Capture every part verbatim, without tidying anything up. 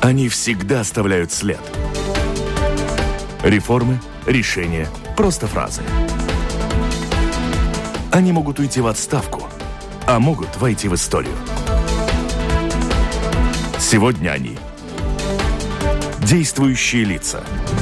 Они всегда оставляют след. Реформы, решения, просто фразы. Они могут уйти в отставку, а могут войти в историю. Сегодня они – действующие лица.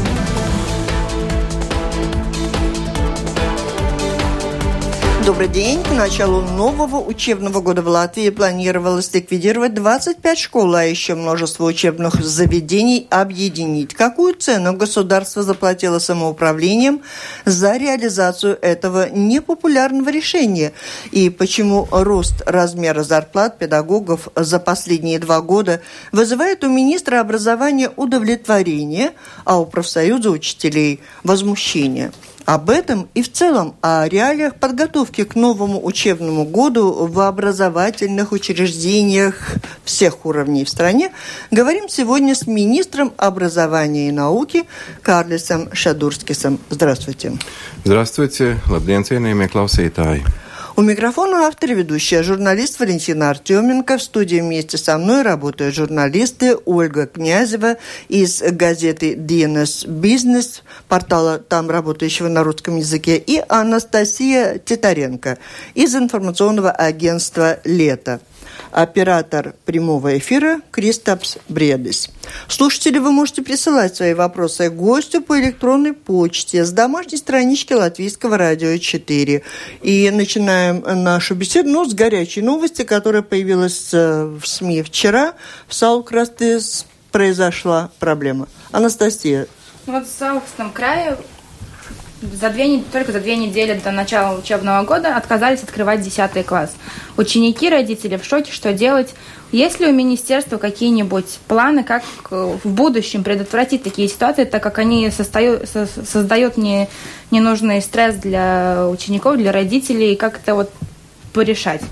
Добрый день. К началу нового учебного года в Латвии планировалось ликвидировать двадцать пять школ, а еще множество учебных заведений объединить. Какую цену государство заплатило самоуправлением за реализацию этого непопулярного решения? И почему рост размера зарплат педагогов за последние два года вызывает у министра образования удовлетворение, а у профсоюза учителей возмущение? Об этом и в целом о реалиях подготовки к новому учебному году в образовательных учреждениях всех уровней в стране говорим сегодня с министром образования и науки Kārlis Šadurskis. Здравствуйте. Здравствуйте. Labdien, cienījamie klausītāji. У микрофона автор и ведущая, журналист Валентина Артеменко. В студии вместе со мной работают журналисты Ольга Князева из газеты ди эн эс Business, портала там работающего на русском языке, и Анастасия Титаренко из информационного агентства «Лето». Оператор прямого эфира Кристапс Бредис. Слушатели, вы можете присылать свои вопросы гостю по электронной почте с домашней странички Латвийского радио четыре. И начинаем нашу беседу ну, с горячей новости, которая появилась в СМИ вчера. В Салкрасте произошла проблема. Анастасия. Вот в Салкрастском крае За две, только за две недели до начала учебного года отказались открывать десятый класс. Ученики, родители в шоке, что делать. Есть ли у министерства какие-нибудь планы, как в будущем предотвратить такие ситуации, так как они состою, со, создают не, ненужный стресс для учеников, для родителей, и как это вот порешать?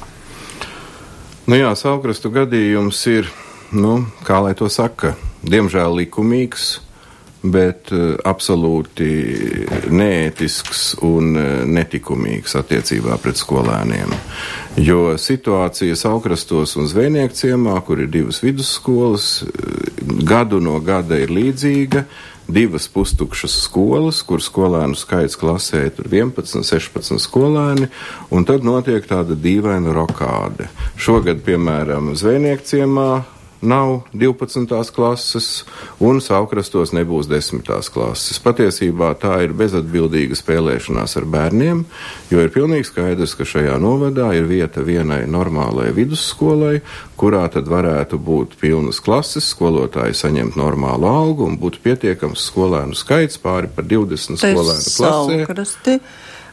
Nu jā, Salkrastu gadījums ir, nu, kā lai to saka, diemžēl likumīgs, bet uh, absolūti neētisks un uh, netikumīgs attiecībā pret skolēniem. Jo situācija Salkrastos un Zvejnieku ciemā, kur ir divas vidusskolas, gadu no gada ir līdzīga. Divas pustukšas skolas, kur skolēnu skaits klasē ir vienpadsmit, sešpadsmit skolēni, un tad notiek tāda dīvaina rokāde. Šogad, piemēram, Zvejnieku ciemā nav divpadsmitās klases, un Salkrastos nebūs desmitās klases. Patiesībā tā ir bezatbildīga spēlēšanās ar bērniem, jo ir pilnīgi skaidrs, ka šajā novadā ir vieta vienai normālai vidusskolai, kurā tad varētu būt pilnas klases, skolotāji saņemt normālu algu un būtu pietiekams skolēnu skaits pāri par divdesmit skolēnu klasē. Салкрасте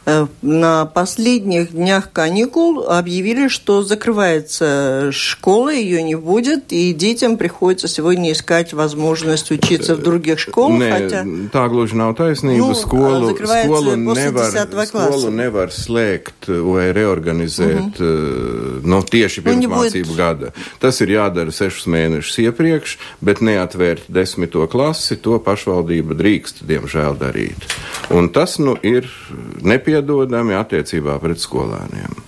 на последних днях каникул объявили, что закрывается школа, ее не будет, и детям приходится сегодня искать возможность учиться в других школах. Nē, хотя... tā gluži nav taisnība. Nu, skolu, skolu, nevar, skolu nevar slēgt vai reorganizēt uh-huh. no tieši pirms nu, mācību gada. Tas ir jādara sešus mēnešus iepriekš, bet neatvērt desmito klasi, to pašvaldība drīkst, diemžēl, darīt. Un tas, nu, ir nepieciešams dodami attiecībā pret skolēniem.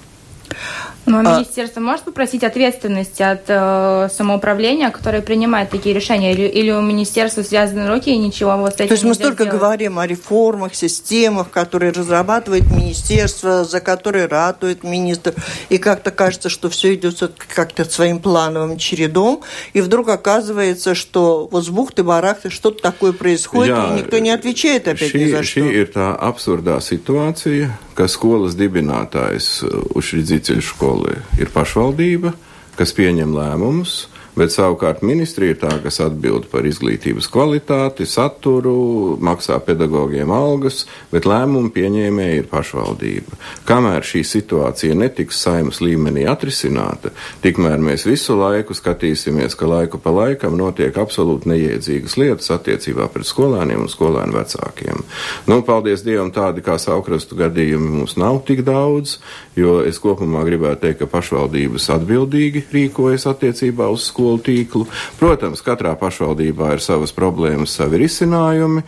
Но министерство может попросить ответственности от э, самоуправления, которое принимает такие решения, или, или у министерства связаны руки и ничего вот с этим То есть мы столько сделать? говорим о реформах, системах, которые разрабатывает министерство, за которые ратует министр, и как-то кажется, что все идет как-то своим плановым чередом, и вдруг оказывается, что вот с бухты-барахты что-то такое происходит, Jā, и никто не отвечает опять šī, ни за что. Šī ir tā absurdā situācija, ka skolas dibinātājs učredzīceļu skolu ir pašvaldība, kas pieņem lēmumus, bet savukārt ministrija ir tā, kas atbild par izglītības kvalitāti, saturu, maksā pedagogiem algas, bet lēmumu pieņēmēji ir pašvaldība. Kamēr šī situācija netiks Saeimas līmenī atrisināta, tikmēr mēs visu laiku skatīsimies, ka laiku pa laikam notiek absolūti neiedzīgas lietas attiecībā pret skolēniem un skolēnu vecākiem. Nu, paldies Dievam, tādi kā Salkrastu gadījumi mums nav tik daudz, jo es kopumā gribētu teikt, ka pašvaldības atbildīgi rīkojas attiecībā uz skolu vidusskolu tīklu. Protams, katrā pašvaldībā ir savas problēmas, savi risinājumi.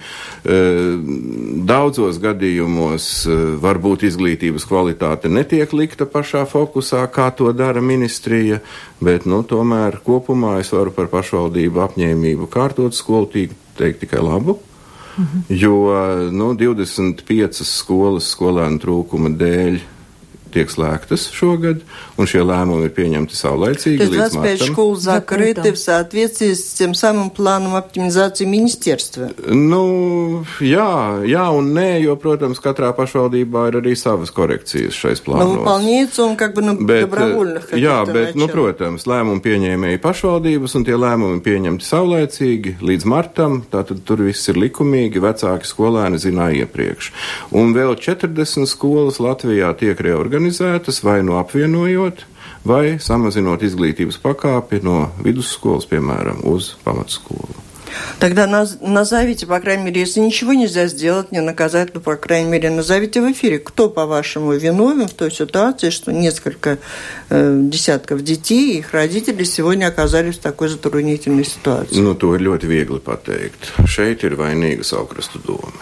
Daudzos gadījumos varbūt izglītības kvalitāte netiek likta pašā fokusā, kā to dara ministrija, bet, nu, tomēr kopumā es varu par pašvaldību apņēmību kārtot skolu tīklu teikt tikai labu. Mhm. Jo, nu, divdesmit piecas skolas skolēnu trūkuma dēļ tiek slēgtas šogad, un шie лēmumi ir pieņemti saulaicīgi То есть līdz двадцать пять martam. школ закрыты в соответствии с тем самым планом оптимизации министерства? Nu, jā, jā un nē, jo, protams, katrā pašvaldībā ir arī savas korekcijas šais plānos. Но выполняется он как бы на bet, добровольных каких-то jā, bet, началах. nu, protams, lēmumu pieņēmēji pašvaldības, un tie lēmumi pieņemti saulaicīgi līdz martam, tātad tur viss ir likumīgi, vecāki skolēni zināja iepriekš. Un vēl četrdesmit skolas Latvijā tiek reorganizētas, vai nu apvienojot, vai samazinot izglītības pakāpi no vidusskolas, piemēram, uz pamatskolu. Тогда наз- назовите, по крайней мере, если ничего нельзя сделать, не наказать, то, по крайней мере, назовите в эфире, кто, по-вашему, виновен в той ситуации, что несколько э, десятков детей и их родителей сегодня оказались в такой затруднительной ситуации. Nu, to ir ļoti viegli pateikt. Šeit ir vainīga Saukrastu doma.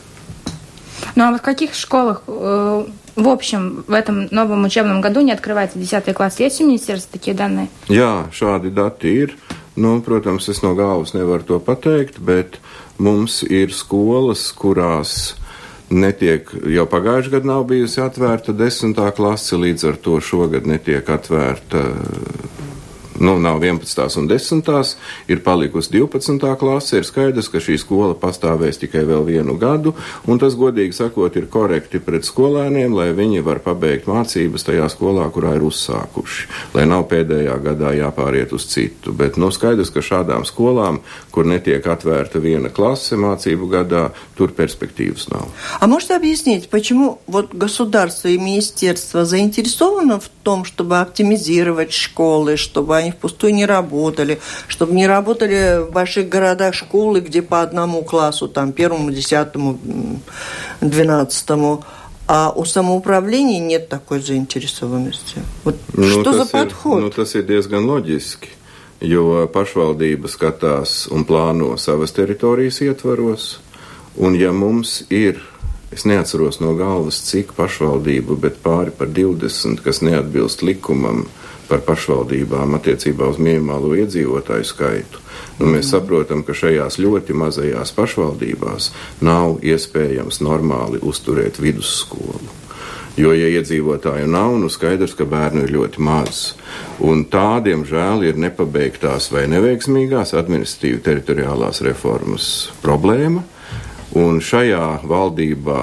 Ну а в каких школах э, в общем в этом новом учебном году не открывается десятый класс? Есть у министерства такие данные? Jā, šādi dati ir. Nu, protams, es no galvas nevaru to pateikt, bet mums ir skolas, kurās netiek, jau pagājušajā gadā nav bijusi atvērta desmitā klase, līdz ar to šogad netiek atvērta. Nu, nav vienpadsmitās un desmitās, ir palikusi divpadsmitā klase, ir skaidrs, ka šī skola pastāvēs tikai vēl vienu gadu, un tas, godīgi sakot, ir korekti pret skolēniem, lai viņi var pabeigt mācības tajā skolā, kurā ir uzsākuši, lai nav pēdējā gadā jāpāriet uz citu. Bet, nu, skaidrs, ka šādām skolām, kur netiek atvērta viena klase mācību gadā, tur перспективas nav. А можете объяснить, почему вот государство и министерство заинтересовано в том, чтобы оптимизировать школы, чтобы они впустую не работали, чтобы не работали в больших городах школы, где по одному классу, там, первому, десятому, двенадцатому, а у самоуправления нет такой заинтересованности. Вот nu, что за ir, подход? Nu, tas ir diezgan loģiski, jo pašvaldība skatās un plāno savas teritorijas ietvaros, un ja mums ir, es neatceros no galvas, cik pašvaldību, bet pāri par divdesmit, kas neatbilst likumam par pašvaldībām attiecībā uz minimālo iedzīvotāju skaitu, nu, mēs saprotam, ka šajās ļoti mazajās pašvaldībās nav iespējams normāli uzturēt vidusskolu. Jo, ja iedzīvotāju nav, nu skaidrs, ka bērnu ir ļoti maz. Un tā, diemžēl, ir nepabeigtās vai neveiksmīgās administratīvi teritoriālās reformas problēma. Un šajā valdībā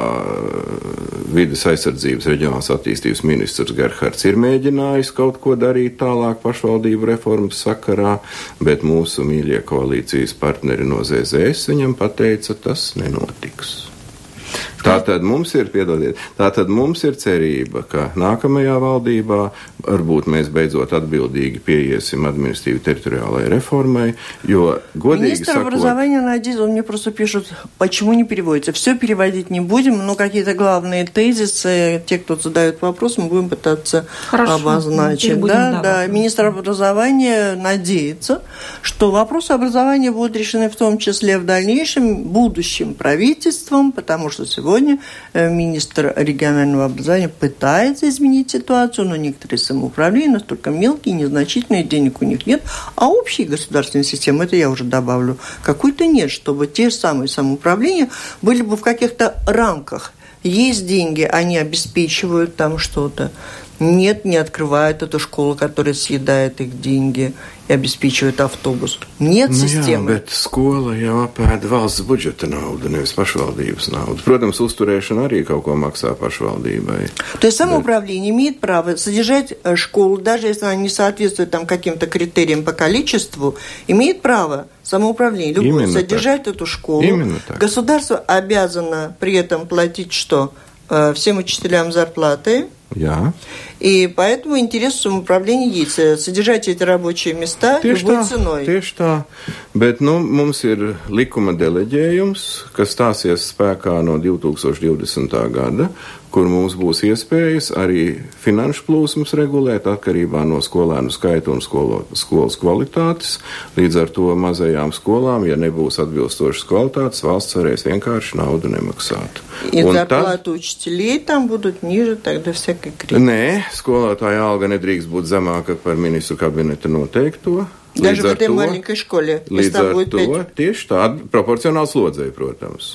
vides aizsardzības reģionālās attīstības ministrs Gerhards ir mēģinājis kaut ko darīt tālāk pašvaldību reformas sakarā, bet mūsu mīļie koalīcijas partneri no zē zē es viņam pateica, tas nenotiks. Tātad mums ir, piedodiet, tātad mums ir cerība, ka nākamajā valdībā varbūt mēs beidzot atbildīgi pieiesim административной территориальной реформой, jo, godīgi Министр sakot... образования Надежд, он мне просто пишет, почему не переводится. Все переводить не будем, но какие-то главные тезисы, те, кто задает вопрос, мы будем пытаться Хорошо. обозначить. Да, да. Министр образования надеется, что вопросы образования будут решены в том числе в дальнейшем будущим правительством, потому что сегодня министр регионального образования пытается изменить ситуацию, но некоторые самоуправления настолько мелкие, незначительные, денег у них нет, а общей государственной системы, это я уже добавлю, какой-то нет, чтобы те самые самоуправления были бы в каких-то рамках. Есть деньги, они обеспечивают там что-то. Нет, не открывают эту школу, которая съедает их деньги и обеспечивает автобус. Нет nu, системы. Jā, bet skola jau apēda valsts budžeta naudu, nevis pašvaldības naudu. Protams, uzturēšana arī kaut ko maksā pašvaldībai. То есть самоуправление имеет право содержать школу, даже если она не соответствует там каким-то критериям по количеству, имеет право самоуправление любое Именно содержать так. эту школу. Именно так. Государство обязано при этом платить что? Всем учителям зарплаты. Jā. И поэтому интерес самоуправления есть. Содержать эти рабочие места Tieši любой tā, ценой. tieši tā. Bet, nu, mums ir likuma deleģējums, kas stāsies spēkā no divtūkstoš divdesmitā gada, kur mums būs iespējas arī finanšu plūsmas regulēt atkarībā no skolēnu skaita un skolo, skolas kvalitātes. Līdz ar to mazajām skolām, ja nebūs atbilstošas kvalitātes, valsts varēs vienkārši naudu nemaksāt. И зарплаты учителей там будут ниже тогда всякой критики. Nē, skolotāja alga nedrīkst būt zemāka par ministru kabineta noteikto. Даже в этой to, маленькой школе. Līdz ar to pēc... tieši tāda proporcionāla slodzēja, protams.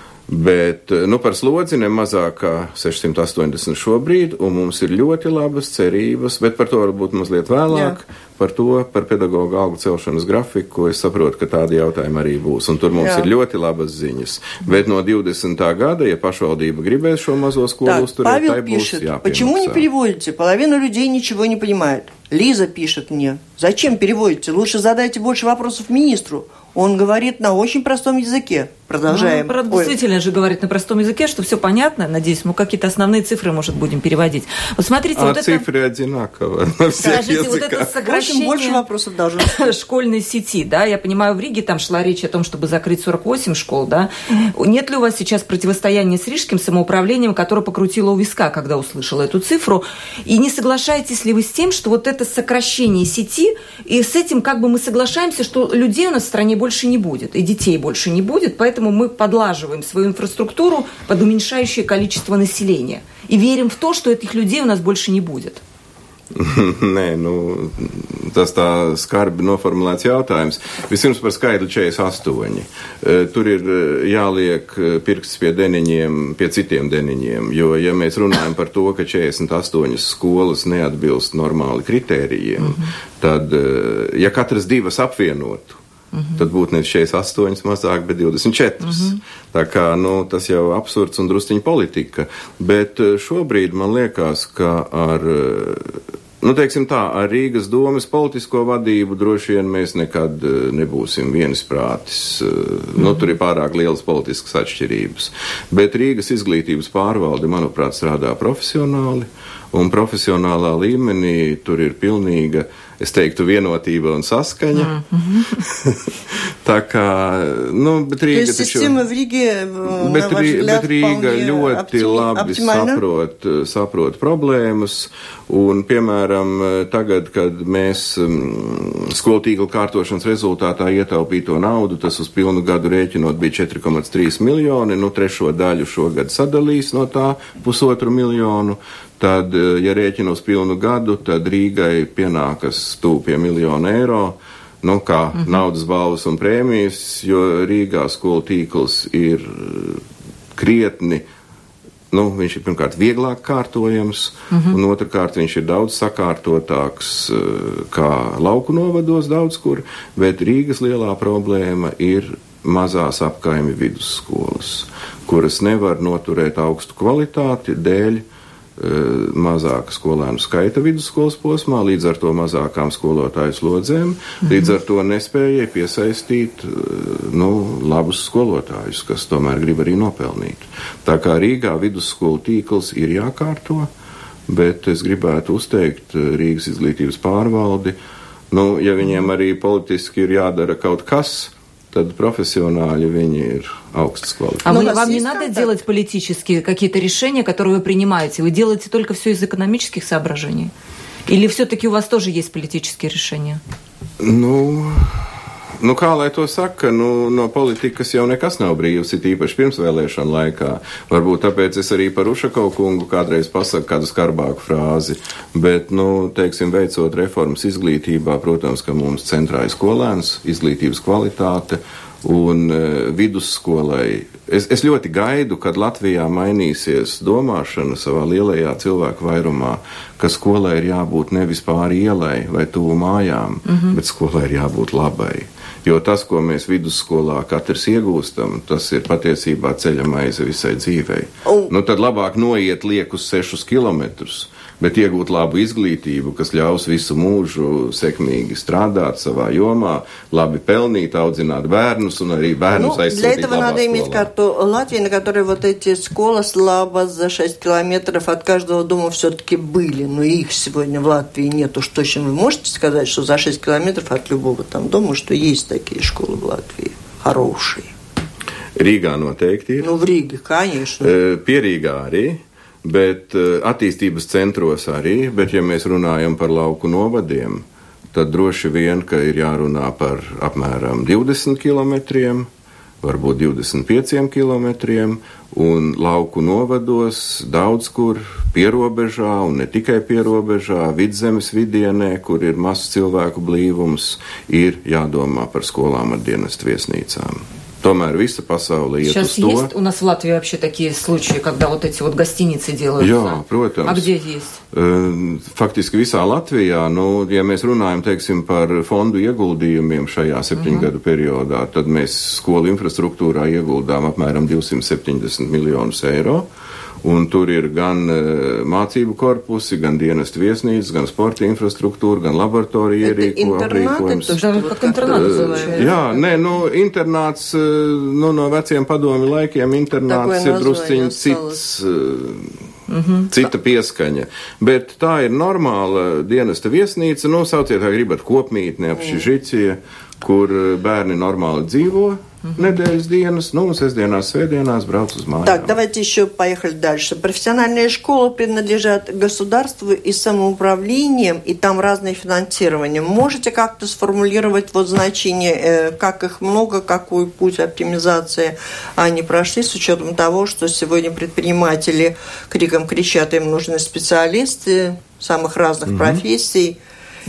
Bet, nu, par slodzi ne mazāk kā sešsimt astoņdesmit šobrīd, un mums ir ļoti labas cerības, bet par to varbūt mazliet vēlāk, Jā. par to, par pedagoģu algu celšanas grafiku, es saprotu, ka tādi jautājumi arī būs, un tur mums Jā. ir ļoti labas ziņas. Bet no divdesmitā gada, ja pašvaldība gribēs šo mazo skolu uzturēt, tai būs jāpiemaksā. Почему не переводите? Половина людей ничего не понимает. Лиза пишет мне, зачем переводите? Лучше задайте больше вопросов министру. Он говорит на очень простом языке. Продолжаем. Ну, действительно же говорит на простом языке, что все понятно, надеюсь, мы какие-то основные цифры, может, будем переводить. Вот смотрите, а вот цифры это... одинаково на всех Скажите, языках. Вот это сокращение больше вопросов должно быть. Школьной сети, да, я понимаю, в Риге там шла речь о том, чтобы закрыть сорок восемь школ, да. Нет ли у вас сейчас противостояния с рижским самоуправлением, которое покрутило у виска, когда услышало эту цифру? И не соглашаетесь ли вы с тем, что вот это сокращение сети, и с этим как бы мы соглашаемся, что людей у нас в стране больше не будет, и детей больше не будет, поэтому мы подлаживаем свою инфраструктуру под уменьшающее количество населения. И верим в то, что этих людей у нас больше не будет. Nē, nu, tas tā skarbi noformulēts jautājums. Vispirms par skaidru četrdesmit astoņi. Tur ir jāliek pirksts pie deniņiem, pie citiem deniņiem, jo, ja mēs runājam par to, ka četrdesmit astoņas skolas neatbilst normāli kritērijiem, mm-hmm. tad, ja katras divas apvienotu, Mm-hmm. tad būtu nevis četrdesmit astoņas mazāk, bet divdesmit četras. Mm-hmm. Tā kā, nu, tas jau absurds un drusciņa politika. Bet šobrīd man liekas, ka ar, nu, teiksim tā, ar Rīgas domes politisko vadību droši vien mēs nekad nebūsim vienisprātis. Mm-hmm. Nu, tur ir pārāk lielas politiskas atšķirības. Bet Rīgas izglītības pārvalde, manuprāt, strādā profesionāli. Un profesionālā līmenī tur ir pilnīga, es teiktu, vienotība un saskaņa. Mm-hmm. Tā kā, nu, bet Rīga taču... Bet, bet Rīga ļoti labi saprot, saprot problēmas. Un, piemēram, tagad, kad mēs skolu tīkla kārtošanas rezultātā ietaupīto naudu, tas uz pilnu gadu rēķinot bija četri komats trīs miljoni, nu, trešo daļu šogad sadalīs no tā pusotru miljonu. Tad, ja rēķina uz pilnu gadu, tad Rīgai pienākas tuvu pie miljonu eiro, nu, kā mm-hmm. naudas balvas un prēmijas, jo Rīgā skolu tīkls ir krietni, nu, viņš ir pirmkārt vieglāk kārtojams, mm-hmm. un otrkārt viņš ir daudz sakārtotāks kā lauku novados daudz kur, bet Rīgas lielā problēma ir mazās apkaimi vidusskolas, kuras nevar noturēt augstu kvalitāti dēļ mazāka skolēnu skaita vidusskolas posmā, līdz ar to mazākām skolotāju slodzēm, mm-hmm. līdz ar to nespēja piesaistīt, nu, labus skolotājus, kas tomēr grib arī nopelnīt. Tā kā Rīgā vidusskolu tīkls ir jākārto, bet es gribētu uzteikt Rīgas izglītības pārvaldi, nu, ja viņiem arī politiski ir jādara kaut kas, tad профессионали viņi ir augstas kvalitātes. А вы, вам не надо делать политические какие-то решения, которые вы принимаете? Вы делаете только все из экономических соображений? Или все-таки у вас тоже есть политические решения? Nu, nu kā lai to saka, nu, no politikas jau nekas nav brīvs, ir īpaši pirmsvēlēšana laikā. Varbūt tāpēc es arī par Ušakovu kungu kādreiz pasaku kādu skarbāku frāzi, bet, nu, teiksim, veicot reformas izglītībā, protams, ka mums centrā ir skolēns, izglītības kvalitāte un e, vidusskolai. Es, es ļoti gaidu, kad Latvijā mainīsies domāšana savā lielajā cilvēku vairumā, ka skolai ir jābūt nevis pāri ielai vai tuvu mājām, mm-hmm. bet skolai ir jābūt labai. Jo tas, ko mēs vidusskolā katrs iegūstam, tas ir patiesībā ceļa maize visai dzīvei. Oh. Nu, tad labāk noiet liekus sešus kilometrus, bet iegūt labu izglītību, kas ļaus visu mūžu sekmīgi strādāt savā jomā, labi pelnīt, audzināt bērnus un arī bērnus ну, aizsūtīt labā skolā. Для этого надо иметь карту Латвии, на которой вот эти школы слабо за шесть километров от каждого дома все-таки были. Но их сегодня в Латвии нет. Уж точно вы можете сказать, что за шесть километров от любого там дома, что есть такие школы в Латвии хорошие. Rīgā noteikti ir. Nu, в Риге, конечно. Pie Rīgā arī. bet attīstības centros arī, bet ja mēs runājam par lauku novadiem, tad droši vien, ka ir jārunā par apmēram divdesmit kilometriem, varbūt divdesmit pieciem kilometriem, un lauku novados daudz kur pierobežā, un ne tikai pierobežā, vidzemes vidienē, kur ir mazs cilvēku blīvums, ir jādomā par skolām ar dienestu viesnīcām. Tomēr вся паsaule iet Сейчас uz to. Есть у нас в Латвии вообще такие случаи, когда вот эти вот гостиницы делаются? Jā, protams. А где есть? Faktiski visā Latvijā, nu, ja mēs runājam, teiksim, par fondu ieguldījumiem šajā septiņgadu periodā, tad mēs skolu infrastruktūrā ieguldām apmēram divsimt septiņdesmit miljonus eiro. Un tur ir gan uh, mācību korpusi, gan dienestu viesnīcas, gan sporta infrastruktūra, gan laboratorija ierīkojums. Jā, nē, nu, internāts, nu, no veciem padomi laikiem internāts ir drusciņ cits, uh, mm-hmm. cita pieskaņa. Bet tā ir normāla dienesta viesnīca, nu, sauciet, kā gribat, kopmītne, apšižicie, kur bērni normāli dzīvo. Недельс dienas, ну, сестдиенās, светдиенās брауc uz mājām. Так, давайте еще поехали дальше. Профессиональные школы принадлежат государству и самоуправлениям, и там разное финансирование. Можете как-то сформулировать вот значение, э, как их много, какой путь оптимизации они прошли, с учетом того, что сегодня предприниматели криком кричат, им нужны специалисты самых разных mm-hmm. профессий.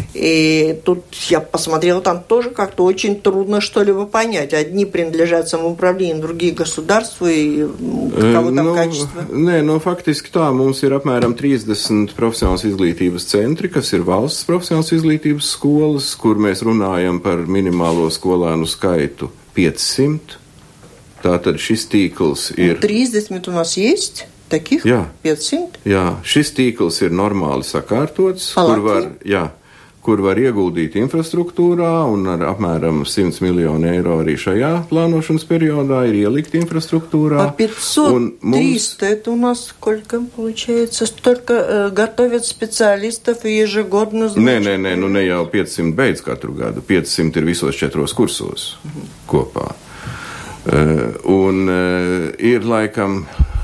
И тут я посмотрела, там тоже как-то очень трудно что-либо понять. Одни принадлежат самоуправлению, другие государству, и кого там nu, качество? Nē, nu, faktiski tā, mums ir apmēram trīsdesmit profesionālas izglītības centri, kas ir valsts profesionālas izglītības skolas, kur mēs runājam par minimālo skolēnu skaitu piecsimt. Tātad šis tīkls ir... тридцать у нас есть таких? Jā. пятьсот? Jā, šis tīkls ir normāli sakārtots, Palaki? kur var... Jā. kur var ieguldīt infrastruktūrā, un ar apmēram сто miljonu eiro arī šajā plānošanas periodā ir ielikt infrastruktūrā. А пятьсот, триста, это у нас сколько получается? Столько э, готовят специалистов и ежегодно... Nē, nē, nē, nu ne jau piecsimt beidz katru gadu, piecsimt ir visos četros kursos uh-huh. kopā. Uh, un uh, ir laikam...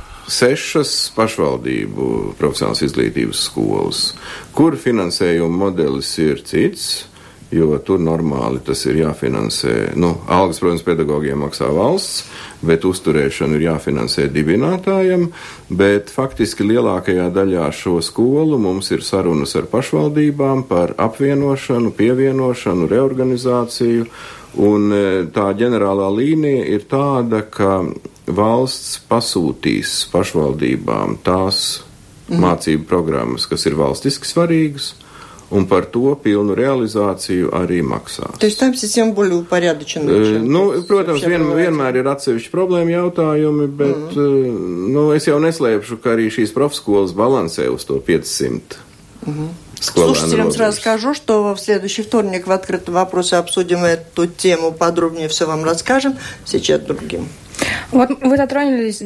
sešas pašvaldību profesionālas izglītības skolas, kur finansējuma modelis ir cits, jo tur normāli tas ir jāfinansē, nu, algas, protams, pedagogiem maksā valsts, bet uzturēšanu ir jāfinansē dibinātājiem, bet faktiski lielākajā daļā šo skolu mums ir sarunas ar pašvaldībām par apvienošanu, pievienošanu, reorganizāciju, un tā ģenerālā līnija ir tāda, ka valsts pasūtīs pašvaldībām tās mm. mācību programmas, kas ir valstiski svarīgas, un par to pilnu realizāciju arī maksās. То есть там система более упорядочена? Nu, protams, vien, vienmēr ir atsevišķi problēma jautājumi, bet mm. nu, es jau neslēpšu, ka arī šīs profskolas balansē uz to пятьсот. Mm-hmm. Слушателям сразу скажу, что в следующий вторник в открытом вопросе обсудим эту тему подробнее, все вам расскажем. Сейчас другим. Вот вы затронули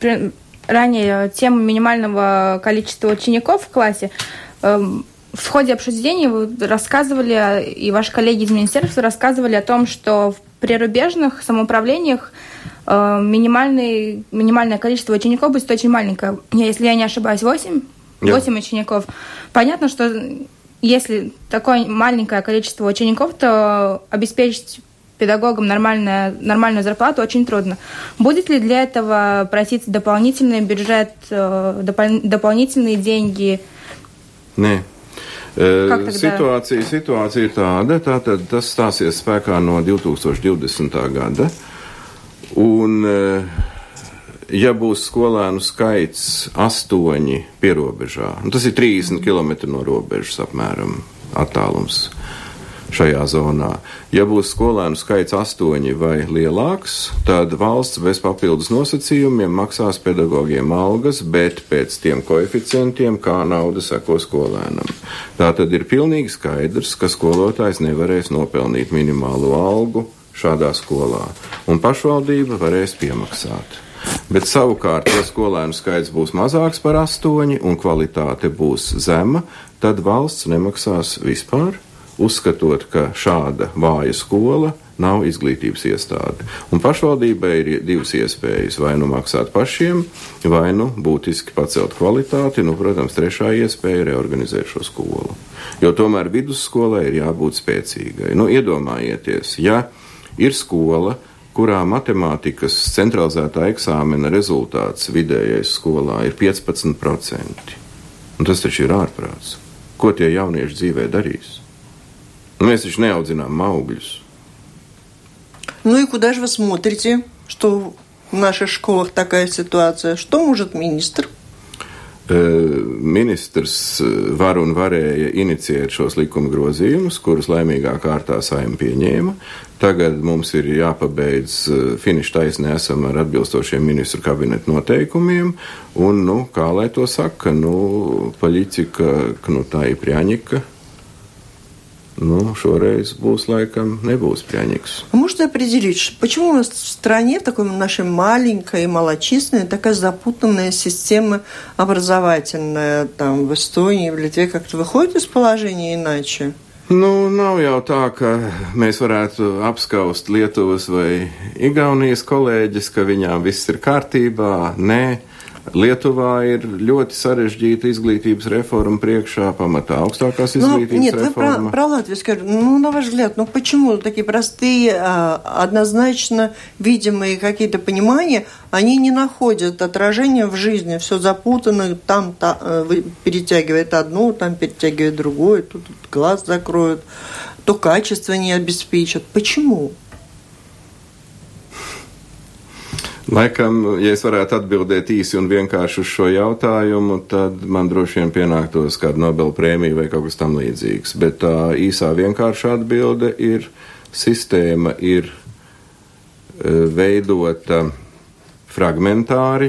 ранее тему минимального количества учеников в классе. В ходе обсуждения вы рассказывали, и ваши коллеги из министерства рассказывали о том, что в прирубежных самоуправлениях минимальное, минимальное количество учеников будет очень маленькое. Если я не ошибаюсь, восемь? восемь учеников. Понятно, что если такое маленькое количество учеников, то обеспечить педагогам нормальную, нормальную зарплату очень трудно. Будет ли для этого проситься дополнительный бюджет, допол- дополнительные деньги? Nē. Situācija, situācija ir tāda, tātad tas stāsies spēkā no divtūkstoš divdesmitā gada, un ja būs skolēnu skaits astoņi pierobežā, un tas ir trīsdesmit kilometri no robežas apmēram attālums šajā zonā. Ja būs skolēnu skaits astoņi vai lielāks, tad valsts bez papildus nosacījumiem maksās pedagogiem algas, bet pēc tiem koeficientiem, kā nauda seko skolēnam. Tā tad ir pilnīgi skaidrs, ka skolotājs nevarēs nopelnīt minimālo algu šādā skolā, un pašvaldība varēs piemaksāt. Bet savukārt, ja skolēnu skaits būs mazāks par astoņi un kvalitāte būs zema, tad valsts nemaksās vispār, uzskatot, ka šāda vāja skola nav izglītības iestāde. Un pašvaldībai ir divas iespējas, vai nu maksāt pašiem, vai nu būtiski pacelt kvalitāti, nu, protams, trešā iespēja ir reorganizēt šo skolu. Jo tomēr vidusskolai ir jābūt spēcīgai. Nu, iedomājieties, ja ir skola, kurā matemātikas centralizētā eksāmena rezultāts vidējais skolā ir piecpadsmit procenti. Un tas taču ir ārprāts. Ko tie jaunieši dzīvē darīs? Nu, mēs taču neaudzinām augļus. Ну и куда же вы смотрите, что в наших школах такая ситуация? Что может министр? Ministrs var un varēja inicijēt šos likuma grozījumus, kurus laimīgā kārtā Saeima pieņēma. Tagad mums ir jāpabeidz finiša taisnē esam ar atbilstošiem ministru kabineta noteikumiem, un, nu, kā lai to saka, nu, политика кнута и пряника. Ну, šoreiz būs, laikam, nebūs пряникс. А можете определить, почему у нас в стране, в такой нашей маленькой и малочисленной, такая запутанная система образовательная, там, в Эстонии, в Литве, как-то выходит из положения иначе? Nu, nav jau tā, ka mēs varētu apskaust Lietuvas vai Igaunijas kolēģis, ka viņām viss ir kārtībā. Nē. Lietuvā ir ļoti sarežģīta изглитības реформа priekšā, pamatā augstākās изглитības ну, нет, реформа. Нет, вы про, про Латвию скажете. Ну, на ваш взгляд, ну почему такие простые, однозначно видимые какие-то понимания, они не находят отражения в жизни, все запутано, там та, перетягивает одно, там перетягивает другое, тут глаз закроют, то качество не обеспечат. Почему? Laikam, ja es varētu atbildēt īsi un vienkārši uz šo jautājumu, tad man droši vien pienāktos kāda Nobela prēmija vai kaut kas tam līdzīgs. Bet tā īsā vienkārša atbilde ir, sistēma ir veidota fragmentāri,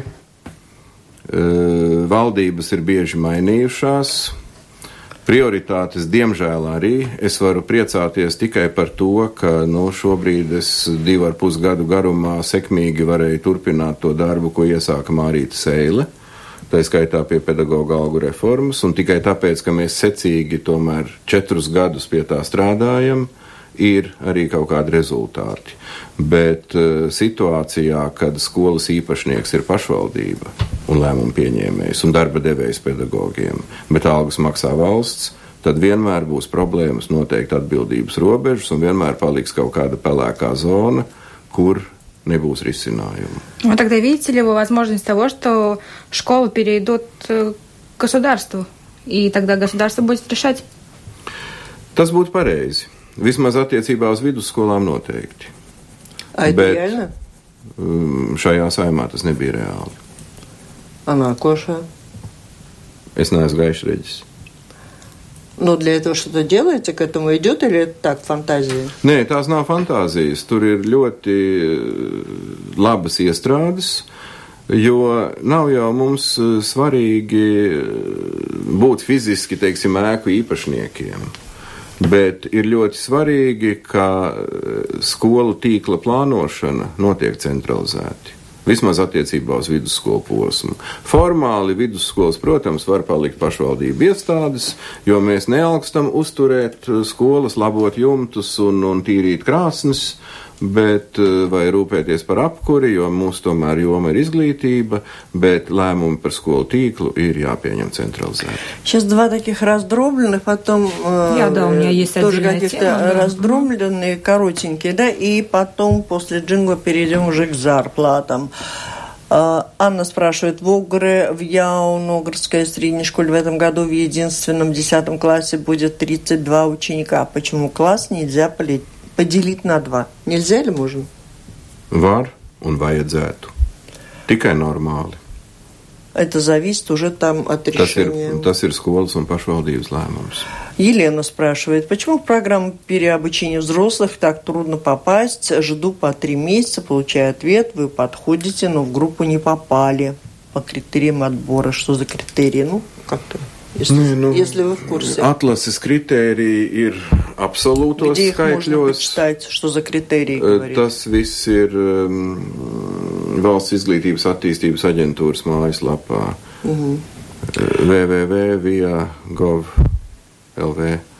valdības ir bieži mainījušās, prioritātes, diemžēl arī. Es varu priecāties tikai par to, ka nu, šobrīd es divu ar pus gadu garumā sekmīgi varēju turpināt to darbu, ko iesāka Mārīta Seile, tā skaitā pie pedagoga algu reformas, un tikai tāpēc, ka mēs secīgi tomēr četrus gadus pie tā strādājam, ir arī kaut kādi rezultāti. Bet uh, situācijā, kad skolas īpašnieks ir pašvaldība un lēmumu pieņēmējs un darba devējs pedagogiem, bet algas maksā valsts, tad vienmēr būs problēmas noteikt atbildības robežas un vienmēr paliks kaut kāda pelēkā zona, kur nebūs risinājumu. Ну, тогда видите ли вы возможность того, что школы перейдут к государству, и тогда государство будет решать? Tas būtu pareizi. Vismaz attiecībā uz vidusskolām noteikti. А это реально? Šajā saimā tas nebija reāli. А nākošā? Es neesmu gaišreģis. Но для этого что-то делаете, к этому идет, или это так, фантазия? Nē, tās nav fantāzijas. Tur ir ļoti labas iestrādes, jo nav jau mums svarīgi būt fiziski, teiksim, ēku īpašniekiem. Bet ir ļoti svarīgi, ka skolu tīkla plānošana notiek centralizēti. Vismaz attiecībā uz vidusskolu posmu. Formāli vidusskolas, protams, var palikt pašvaldību iestādes, jo mēs nealkstam uzturēt skolas, labot jumtus un, un tīrīt krāsnes, bet vai rūpēties par apkuri, jo mūsu tomēr joma ir izglītība, bet lēmumi par skolu tīklu ir jāpieņem централизēti. Сейчас два таких раздробленных, потом Я, да, у меня есть тоже каких-то тема, да. раздробленные, коротенькие, да, и потом после джингла перейдем уже к зарплатам. Анна спрашивает, в Огре, в Яуногорской средней школе в этом году в единственном десятом классе будет тридцать два ученика. Почему класс нельзя полить? Поделить на два. Нельзя или можно? Var un vajadzētu. Tikai normāli. Это зависит уже там от решения. Tas ir, tas ir skolas un pašvaldības lēmums. Елена спрашивает, почему в программу переобучения взрослых так трудно попасть? Жду по три месяца, получаю ответ, вы подходите, но в группу не попали по критериям отбора. Что за критерии? Ну, как-то... Если, Nē, nu, если вы в курсе. Atlases kritēriji ir absolūtos Где их skaitļos. можно почитать, что за критерии говорит? Tas viss ir um, Valsts izglītības attīstības aģentūras mājaslapā uh-huh. w w w punkt v i a punkt gov punkt l v.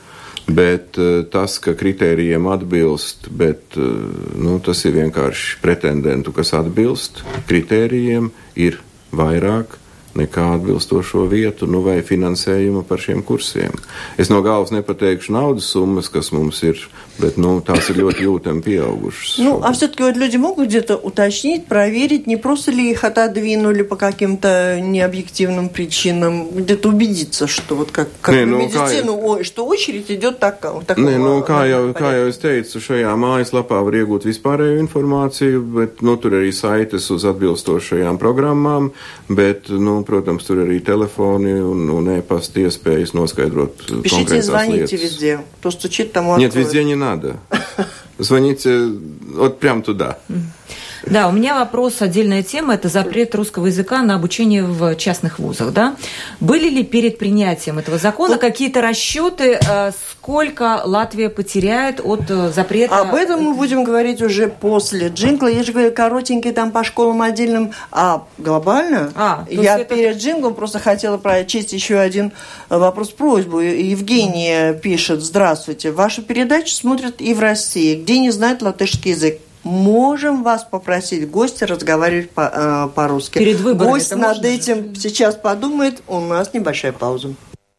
Bet tas, ka kritērijiem atbilst, bet nu, tas ir vienkārši pretendentu, kas atbilst kritērijiem, ir vairāk nekā atbilstošo vietu, nu vai finansējumu par šiem kursiem. Es no galvas nepateikšu naudas summas, kas mums ir, bet, ну, tās ir ļoti jūtami pieaugušas. Ну, а все-таки вот люди могут где-то уточнить, проверить, не просто ли их отодвинули по каким-то необъективным причинам, где-то убедиться, что вот как, как ne, nu, nu, медицину, kā, что очередь идет так, так. Ne, nu, kā, jau, kā jau es teicu, šajā mājaslapā var iegūt vispārēju informāciju, bet, nu, tur arī saites uz atbilstošajām programmām, bet, nu, protams, tur arī telefoni un, un e-pasta iespējas noskaidrot Пишите, konkrētās звоните lietas. везде. Кто стучит, тому Нет, откроют. везде не надо. Звоните вот прям туда. Да, у меня вопрос, отдельная тема, это запрет русского языка на обучение в частных вузах, да? Были ли перед принятием этого закона вот какие-то расчеты, сколько Латвия потеряет от запрета? Об этом мы будем говорить уже после джингла. Я же говорю, коротенький там по школам отдельным, а глобально. А, я это... перед джинглом просто хотела прочесть еще один вопрос-просьбу. Евгения пишет: здравствуйте, вашу передачу смотрят и в России, где не знают латышский язык. Можем вас попросить гостя разговаривать по, э, по-русски. Перед выборами. Гость над этим же сейчас подумает. У нас небольшая пауза.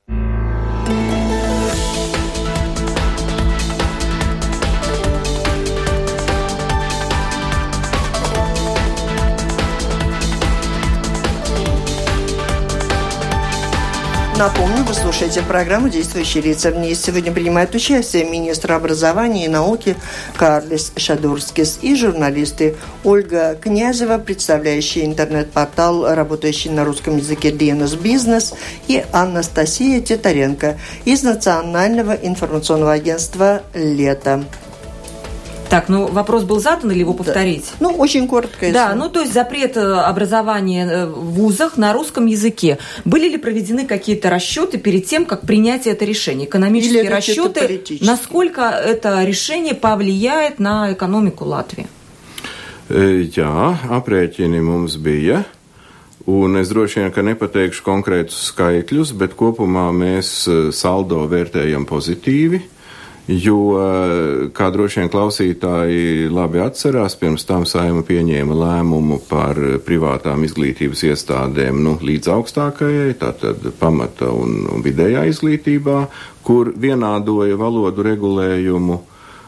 Напомню, вы слушаете программу «Действующие лица». В ней сегодня принимают участие министр образования и науки Карлис Шадурскис и журналисты Ольга Князева, представляющая интернет-портал, работающий на русском языке ди эн эс Бизнес, и Анастасия Титаренко из Национального информационного агентства «Лето». Так, ну вопрос был задан или его повторить? Да. Ну, очень коротко. Да, ну то есть запрет образования в вузах на русском языке. Были ли проведены какие-то расчеты перед тем, как принять это решение? Экономические Или расчеты, насколько это решение повлияет на экономику Латвии? Jā, aprēķini mums bija. Un es droši vien, ka nepateikšu konkrētus skaitļus, bet kopumā mēs saldo vērtējam pozitīvi. Jo, kā droši vien klausītāji labi atcerās, pirms tam Saeima pieņēma lēmumu par privātām izglītības iestādēm, nu, līdz augstākajai, tātad pamata un, un vidējā izglītībā, kur vienādoja valodu regulējumu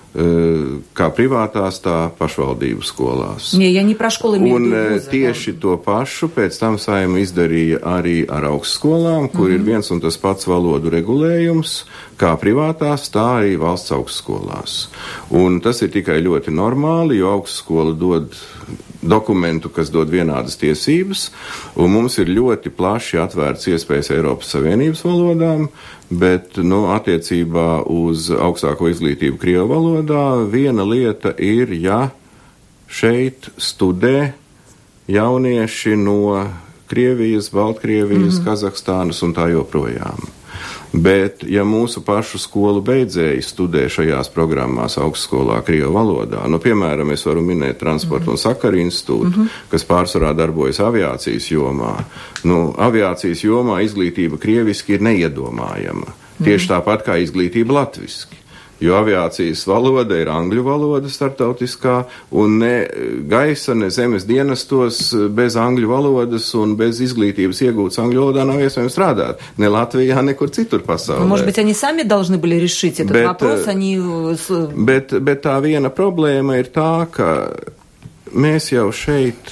kā privātās, tā pašvaldību skolās. Не, я не про школы, имею в виду вузы. Un tieši to pašu pēc tam Saeima izdarīja arī ar augstskolām, kur mm-hmm. ir viens un tas pats valodu regulējums, kā privātās, tā arī valsts augstskolās. Un tas ir tikai ļoti normāli, jo augstskola dod dokumentu, kas dod vienādas tiesības, un mums ir ļoti plaši atvērts iespējas Eiropas Savienības valodām, bet, nu, attiecībā uz augstāko izglītību Krievu valodā viena lieta ir, ja šeit studē jaunieši no Krievijas, Baltkrievijas, mm-hmm. Kazahstānas un tā joprojām. Bet, ja mūsu pašu skolu beidzēji studē šajās programmās augstskolā Krievu valodā, nu, piemēram, es varu minēt Transporta mm-hmm. un Sakaru institūtu, mm-hmm. kas pārsvarā darbojas aviācijas jomā. Nu, aviācijas jomā izglītība krieviski ir neiedomājama. Mm-hmm. Tieši tāpat kā izglītība latviski. Jo aviācijas valoda ir angļu valoda startautiskā, un ne gaisa, ne zemes dienestos bez angļu valodas un bez izglītības iegūtas angļu valodā nav iespējams strādāt. Ne Latvijā, nekur citur pasaulē. Может быть, они сами должны были решить этот bet, вопрос, они... Bet, bet tā viena problēma ir tā, ka mēs jau šeit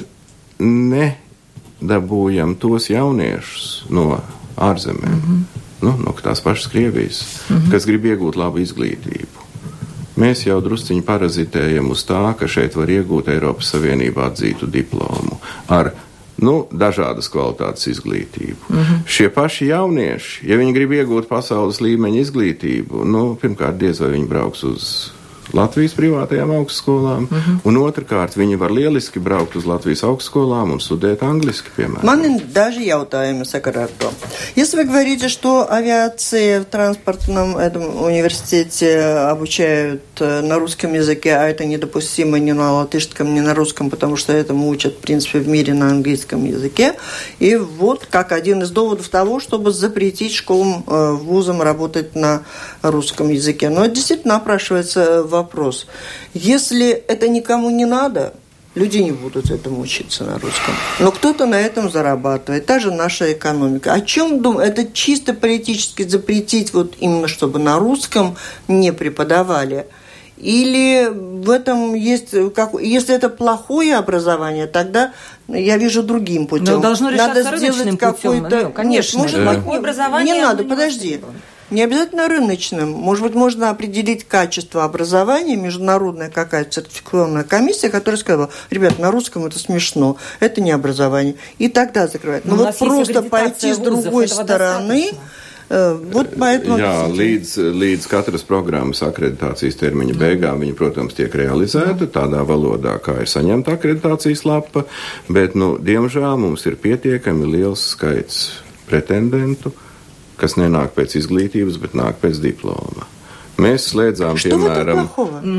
nedabūjam tos jauniešus no ārzemēm. Mm-hmm. Nu, no tās pašas Krievijas, mm-hmm. kas grib iegūt labu izglītību. Mēs jau drusciņi parazitējam uz tā, ka šeit var iegūt Eiropas Savienībā atzītu diplomu ar, nu, dažādas kvalitātes izglītību. Mm-hmm. Šie paši jaunieši, ja viņi grib iegūt pasaules līmeņa izglītību, nu, pirmkārt, diez vai viņi brauks uz Latvijas privātajām augstskolām, uh-huh. un otrkārt viņi var lieliski braukt uz Latvijas augstskolām un studēt angliski, piemēram. Man даже jautājumi sakarā ar то. Если вы говорите, что авиация в транспортном этом университете обучают на русском языке, а это недопустимо ни на латышском, ни на русском, потому что этому учат, в принципе, в мире на английском языке. И вот как один из доводов того, чтобы запретить школам, вузам работать на русском языке. Но действительно напрашивается вопрос. Если это никому не надо, люди не будут этому учиться на русском. Но кто-то на этом зарабатывает. Та же наша экономика. О чем думаю? Это чисто политически запретить вот именно, чтобы на русском не преподавали. Или в этом есть... Как, если это плохое образование, тогда я вижу другим путем. Но должно решаться надо рыночным путем. Нет, конечно. Может, да. плохое образование... Не надо, подожди. Не обязательно рыночным. Может быть, можно определить качество образования, международная какая-то сертификационная комиссия, которая сказала, ребят, на русском это смешно, это не образование. И тогда закрывать. Но, Но вот просто пойти с другой стороны... Вот поэтому... Jā, līdz, līdz katras programmas akreditācijas termiņa beigām viņa, protams, tiek realizēta tādā valodā, kā ir saņemta akreditācijas lapa, bet, nu, diemžēl mums ir pietiekami liels skaits pretendentu, kas nenāk pēc izglītības, bet nāk pēc diploma. Mēs slēdzām, Что piemēram...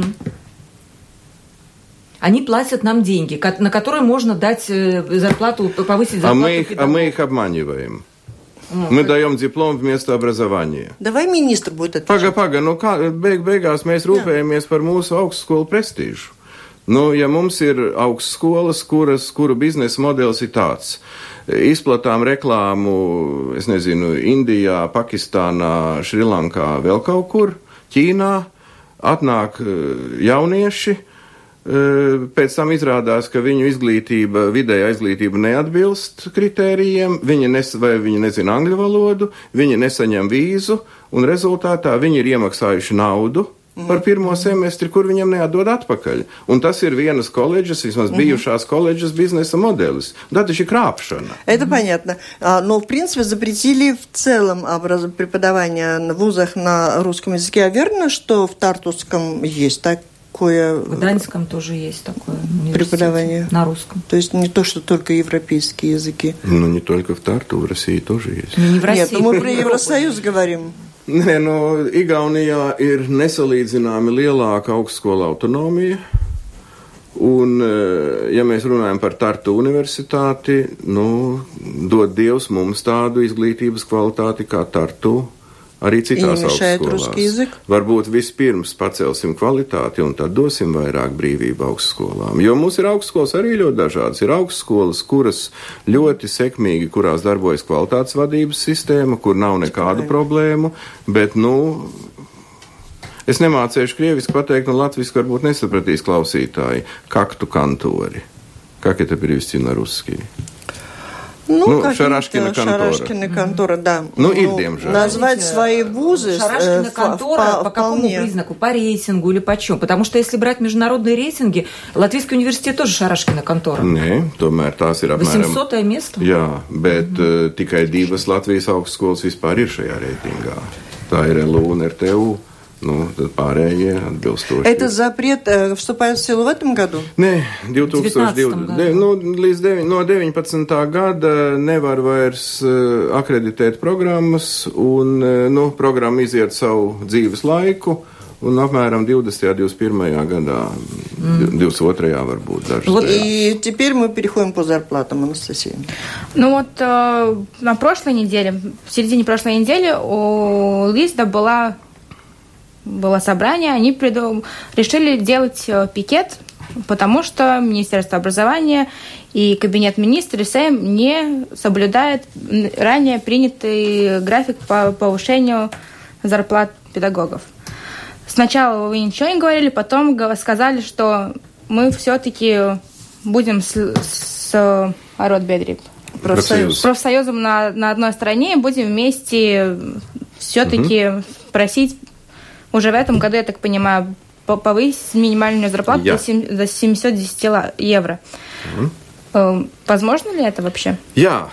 Они платят нам деньги, на которые можно дать зарплату, повысить зарплату. А мы их, а мы их обманиваем. Мы даем диплом вместо образования. Давай министр будет отвечать. Paga, paga, nu kā, beig, beigās mēs rūpējamies par mūsu augstskolu prestīžu. Nu, ja mums ir augstskolas, kuras, kuru biznesa modelis ir tāds, izplatām reklāmu, es nezinu, Indijā, Pakistānā, Šrilankā, vēl kaut kur, Ķīnā, atnāk jaunieši, pēc tam izrādās, ka viņu izglītība, vidēja izglītība neatbilst kritērijiem, viņi, nes, vai viņi nezina angļu valodu, viņi nesaņem vīzu, un rezultātā viņi ir iemaksājuši naudu par pirmo semestri, kur viņam neatdod atpakaļ. Un tas ir vienas koledžas, vismaz bijušās koledžas biznesa modelis. Да, это же крапшана. Это понятно. Но, в принципе, запретили в целом преподавание в вузах на русском языке. А верно, что в Тартусском есть так? В Гданьском тоже есть такое преподавание на русском. То есть не то, что только европейские языки. Ну, не только в Тарту, в России тоже есть. Ну, не в России. Нет, ну мы про Евросоюз говорим. Nē, no Igaunijā ir nesalīdzināmi lielāka augstskola autonomija. Un, ja mēs runājam par Tartu universitāti, nu, dod Dievs mums tādu izglītības kvalitāti kā Tartu. Arī citās augstskolās. Varbūt vispirms pacelsim kvalitāti un tad dosim vairāk brīvību augstskolām. Jo mums ir augstskolas arī ļoti dažādas. Ir augstskolas, kuras ļoti sekmīgi, kurās darbojas kvalitātes vadības sistēma, kur nav nekādu problēmu, bet, nu, es nemācēšu krieviski pateikt, un latviski varbūt nesapratīs klausītāji. Kaktu kantori. Как это перевести на русский? Ну, ну Шарашкина контора. Шарашкина контора, да. Ну, и демжа. Назвать свои вузы... Шарашкина контора по какому признаку? По рейтингу или по чему? Потому что если брать международные рейтинги, Латвийский университет тоже Шарашкина контора. Nē, tomēr tās ir apmēram... восьмисотое место? Jā, bet mm-hmm. uh, tikai divas Latvijas augstskolas vispār ir šajā reitingā. Tā ir L U un R T U. Ну, pārējie atbilstoši. Это запрет э, вступает в силу в этом году? Nē, две тысячи двадцатом. Nu, līdz devi, no deviņpadsmitā gada nevar vairs uh, akreditēt programmas, un uh, nu, programma iziet savu dzīves laiku, un apmēram divdesmitajā, divdesmit pirmajā gadā, mm. divdесят второе varbūt даже. Вот и теперь мы переходим по зарплатам, Анастасия. Ну вот э, на прошлой неделе, в середине прошлой недели у ЛИСДа была... было собрание, они придум... решили делать пикет, потому что Министерство образования и Кабинет министров СЭМ не соблюдает ранее принятый график по повышению зарплат педагогов. Сначала вы ничего не говорили, потом сказали, что мы все-таки будем с, с Аротбедри, профсоюз. профсоюзом на, на одной стороне, и будем вместе все-таки угу. просить уже в этом году, я так понимаю, повысить минимальную зарплату Я. до семьсот десять евро. Mm. Возможно ли это вообще? Jā.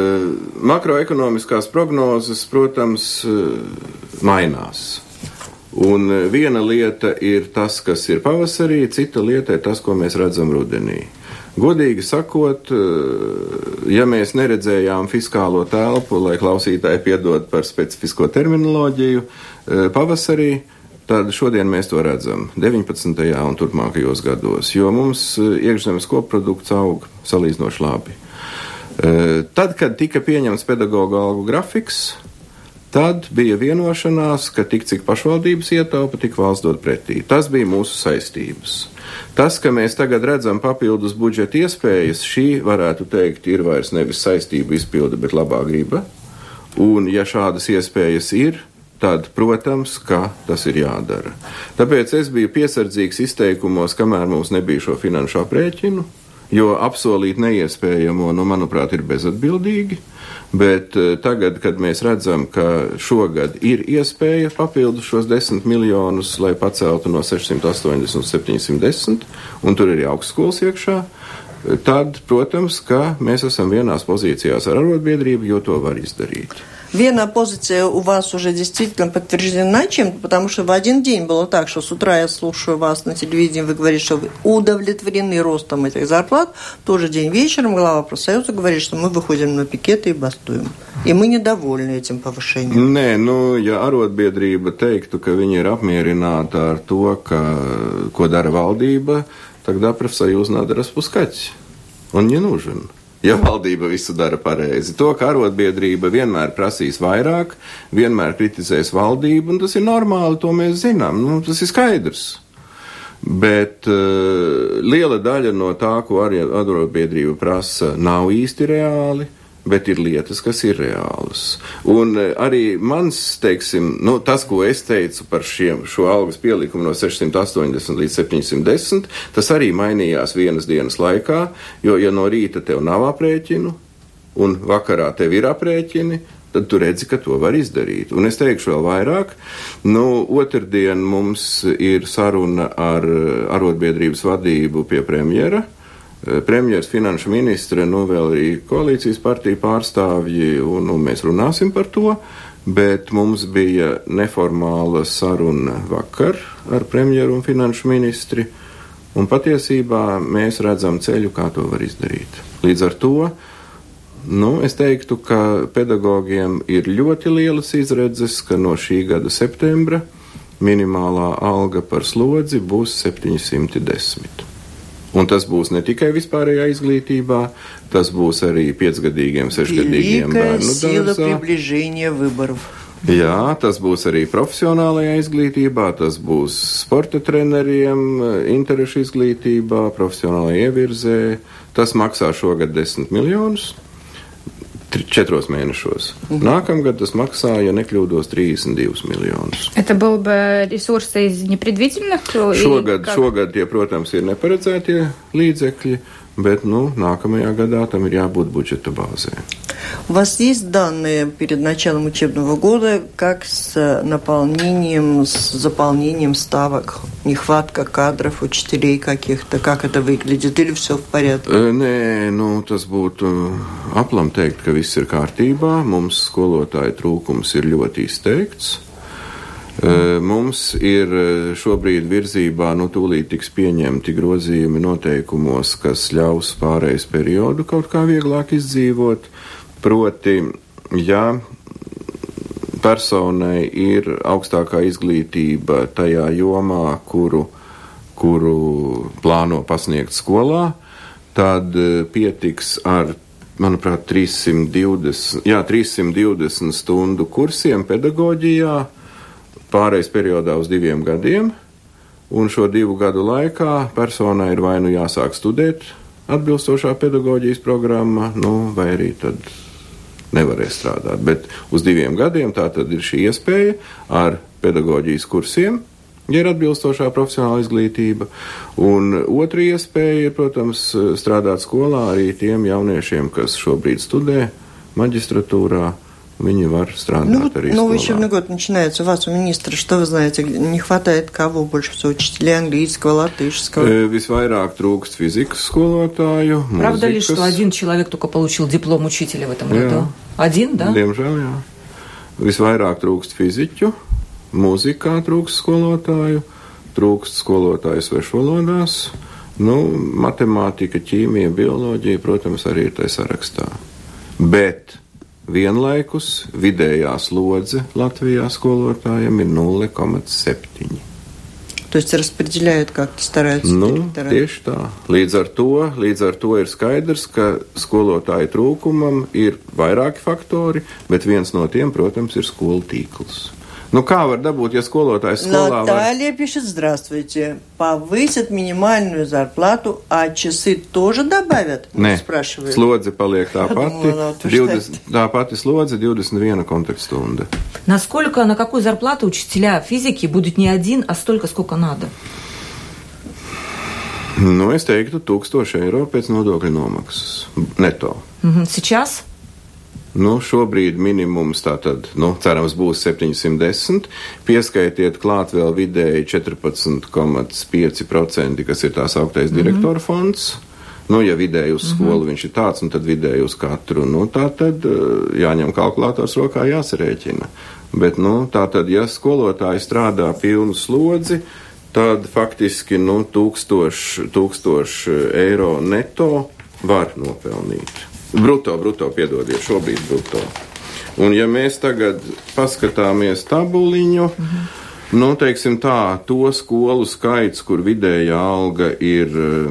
Makroekonomiskās prognozes, protams, mainās. Un viena lieta ir tas, kas ir pavasarī, cita lieta ir tas, ko mēs redzam rudenī. Godīgi sakot, ja mēs neredzējām fiskālo telpu, lai klausītāji piedod par specifisko terminoloģiju, pavasarī, tad šodien mēs to redzam deviņpadsmitajā un turpmākajos gados, jo mums iekšzemes koprodukts aug salīdzinoši labi. Tad, kad tika pieņemts pedagoģa algu grafiks, tad bija vienošanās, ka tik cik pašvaldības ietaupa, tik valsts dod pretī. Tas bija mūsu saistības. Tas, ka mēs tagad redzam papildus budžeta iespējas, šī, varētu teikt, ir vairs nevis saistību izpilde, bet labā griba. Un, ja šādas iespējas ir, tad, protams, ka tas ir jādara. Tāpēc es biju piesardzīgs izteikumos, kamēr mums nebija šo finanšu aprēķinu, jo apsolīt neiespējamo, nu, manuprāt, ir bezatbildīgi. Bet tagad, kad mēs redzam, ka šogad ir iespēja papildus šos desmit miljonus, lai paceltu no sešsimt astoņdesmit uz septiņsimt desmit, un tur ir augstskolas iekšā, tad, protams, ka mēs esam vienās pozīcijās ar arotbiedrību, jo to var izdarīt. Вена позиция у вас уже действительно подтверждена чем-то, потому что в один день было так, что с утра я слушаю вас на телевидении, вы говорите, что вы удовлетворены ростом этих зарплат, в тот же день вечером глава профсоюза говорит, что мы выходим на пикеты и бастуем. И мы недовольны этим повышением. Nē, nu, ja arotbiedrība teiktu, ka viņi ir apmierināti ar to, ka, ko dara valdība, тогда профсоюз надо распускать. Он не нужен. Ja valdība visu dara pareizi. To, ka arotbiedrība vienmēr prasīs vairāk, vienmēr kritizēs valdību, un tas ir normāli, to mēs zinām, nu, tas ir skaidrs. Bet uh, liela daļa no tā, ko arotbiedrība prasa, nav īsti reāli, bet ir lietas, kas ir reālas. Un uh, arī mans, teiksim, nu, tas, ko es teicu par šiem, šo algas pielikumu no sešsimt astoņdesmit līdz septiņsimt desmit, tas arī mainījās vienas dienas laikā, jo, ja no rīta tev nav aprēķinu, un vakarā tev ir aprēķini, tad tu redzi, ka to var izdarīt. Un es teikšu vēl vairāk, nu, otrdien mums ir saruna ar arotbiedrības vadību pie premjera, premjers, finanšu ministre, nu vēl arī koalīcijas partiju pārstāvji, un, un mēs runāsim par to, bet mums bija neformāla saruna vakar ar premjeru un finanšu ministri, un patiesībā mēs redzam ceļu, kā to var izdarīt. Līdz ar to, nu, es teiktu, ka pedagogiem ir ļoti lielas izredzes, ka no šī gada septembra minimālā alga par slodzi būs septiņsimt desmit. Un tas būs ne tikai vispārējā izglītībā, tas būs arī piecgadīgiem, sešgadīgiem bērnu dārzā. Jā, tas būs arī profesionālajā izglītībā, tas būs sporta treneriem, interešu izglītībā, profesionālajā ievirzē. Tas maksā šogad desmit miljonus. Четырех mēnešos. Nākamgad tas maksā, ja nekļūdos, тридцать два miljonus. Это был бы ресурс из непредвиденных? Šogad, šogad tie, protams, ir neparedzētie līdzekļi, bet, ну, nākamajā gadā там ir jābūt budžeta базē. У вас есть данные перед началом учебного года, как с наполнением, с заполнением ставок, нехватка кадров, учителей каких-то, как это выглядит, или все в порядке? Nē, nu, tas būtu aplam teikt, ka viss ir kārtībā. Mums skolotāju trūkums ir ļoti izteikts. Mums ir šobrīd virzībā, nu, tūlīt tiks pieņemti grozījumi noteikumos, kas ļaus pārejas periodu kaut kā vieglāk izdzīvot. Proti, ja personai ir augstākā izglītība tajā jomā, kuru, kuru plāno pasniegt skolā, tad pietiks ar, manuprāt, trīssimt divdesmit, jā, trīssimt divdesmit stundu kursiem pedagoģijā pārejas periodā uz diviem gadiem, un šo divu gadu laikā personai ir vai nu jāsāk studēt atbilstošā pedagoģijas programma, nu, vai arī tad nevarēs strādāt. Bet uz diviem gadiem tā tad ir šī iespēja ar pedagoģijas kursiem, ja ir atbilstošā profesionāla izglītība. Un otra iespēja ir, protams, strādāt skolā arī tiem jauniešiem, kas šobrīd studē maģistratūrā. Viņi var strādāt ну, arī skolā. Новый учебный год начинается. У вас, у министра, что вы знаете, не хватает кого больше всего? Учителей английского, латышского? Э, Visvairāk trūkst fizikas skolotāju, Правда mūzikas. ли, что один человек только получил диплом учителя в этом Jā. году? Один, да? Diemžēl, jā. Visvairāk trūkst fiziķu, mūzikā trūkst skolotāju, trūkst skolotāju svešvalodās, nu, matemātika, ķīmija, bioloģija, protams, arī ir tai sarakstā. Bet vienlaikus vidējā slodze Latvijā skolotājiem ir nulle komats septiņi. То есть распределяют как-то, стараются Nu, директора. tieši tā. Līdz ar to, līdz ar to ir skaidrs, ka skolotāju trūkumam ir vairāki faktori, bet viens no tiem, protams, ir skolu tīkls. Nu, kā var dabūt, ja skolotājs skolā Наталья var... пишет, здравствуйте, повысят минимальную зарплату, а часы тоже добавят? Nē, Спрашивает. slodze paliek tā pati, Думала, то divdesmit, tā pati slodze, divdesmit viena kontaktstunda. Насколько, на какую зарплату учителя физики будут не один, а столько, сколько надо? Nu, es teiktu, tūkstoši eiro pēc nodokļu nomaksas neto. Мгм. Сейчас? Nu, šobrīd minimums tātad, nu, cerams, būs septiņsimt desmit. Pieskaitiet klāt vēl vidēji četrpadsmit komats pieci procenti, kas ir tās augtais mm-hmm. direktora fonds. Nu, ja vidēji uz skolu mm-hmm. viņš ir tāds, un tad vidēji uz katru, nu, tā tad jāņem kalkulators rokā, jāsarēķina. Bet, nu, tā tad, ja skolotāji strādā pilnu slodzi, tad faktiski, nu, tūkstoši, tūkstoši eiro neto var nopelnīt. Bruto, bruto, piedodiet, šobrīd bruto. Un ja mēs tagad paskatāmies tabuliņu, mm-hmm. nu, teiksim tā, to skolu skaits, kur vidējā alga ir,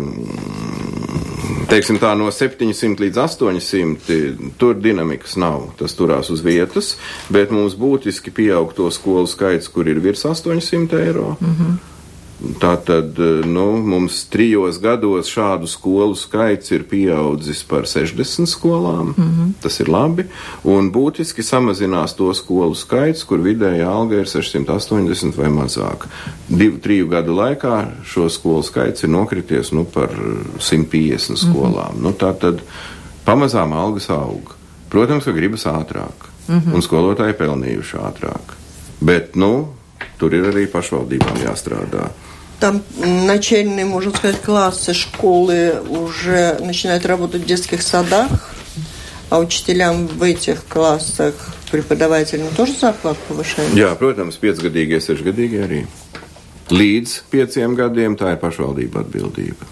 teiksim tā, no septiņsimt līdz astoņsimt, tur dinamikas nav, tas turās uz vietas, bet mums būtiski pieaug to skolu skaits, kur ir virs astoņsimt eiro. Mm-hmm. Tātad, nu, mums trijos gados šādu skolu skaits ir pieaudzis par sešdesmit skolām, mm-hmm. tas ir labi, un būtiski samazinās to skolu skaits, kur vidējā alga ir sešsimt astoņdesmit vai mazāk. Divu, triju gadu laikā šo skolu skaits ir nokrities, nu, par simt piecdesmit skolām. Mm-hmm. Nu, tātad pamazām algas aug. Protams, ka gribas ātrāk, mm-hmm. un skolotāji pelnījuši ātrāk. Bet, nu, tur ir arī pašvaldībām jāstrādā. Там начальные, можно сказать, классы школы уже начинают работать в детских садах, а учителям в этих классах, преподавателям тоже зарплату повышают? Jā, protams, piecgadīgie, sešgadīgie arī. Līdz pieciem gadiem tā ir pašvaldība atbildība.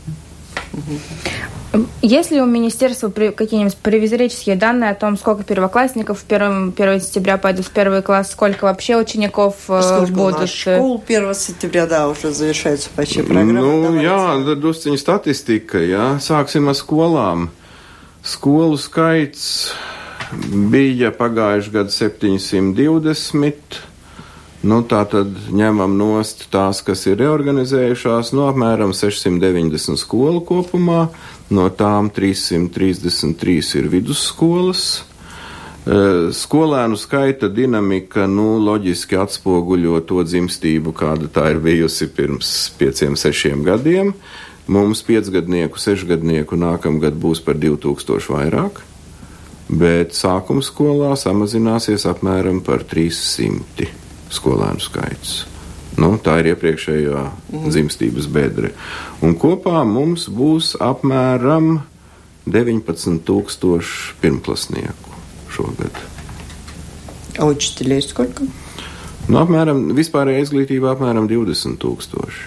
Есть ли у министерства какие-нибудь провизорические данные о том, сколько первоклассников первого сентября пойдут в первый класс, сколько вообще учеников сколько будут? У нас школ первого сентября, да, уже завершается почти программа. Nu, Давайте. jā, drusciņa statistika, jā. Sāksim ar skolām. Skolu skaits bija pagājuši gadu septiņsimt divdesmit. Nu, tā tad ņemam nost tās, kas ir reorganizējušās, no apmēram sešsimt deviņdesmit skolu kopumā, no tām trīssimt trīsdesmit trīs ir vidusskolas. Skolēnu skaita dinamika, nu, loģiski atspoguļo to dzimstību, kāda tā ir bijusi pirms pieciem, sešiem gadiem. Mums piecgadnieku, sešgadnieku nākamgad būs par divi tūkstoši vairāk, bet sākuma skolā samazināsies apmēram par trīssimti. Skolēnu skaits. Nu, tā ir iepriekšējā mm. dzimstības bedre. Un kopā mums būs apmēram deviņpadsmit tūkstoši pirmklasnieku šogad. А учителей сколько? Nu, apmēram, vispārējā izglītībā apmēram divdesmit tūkstoši.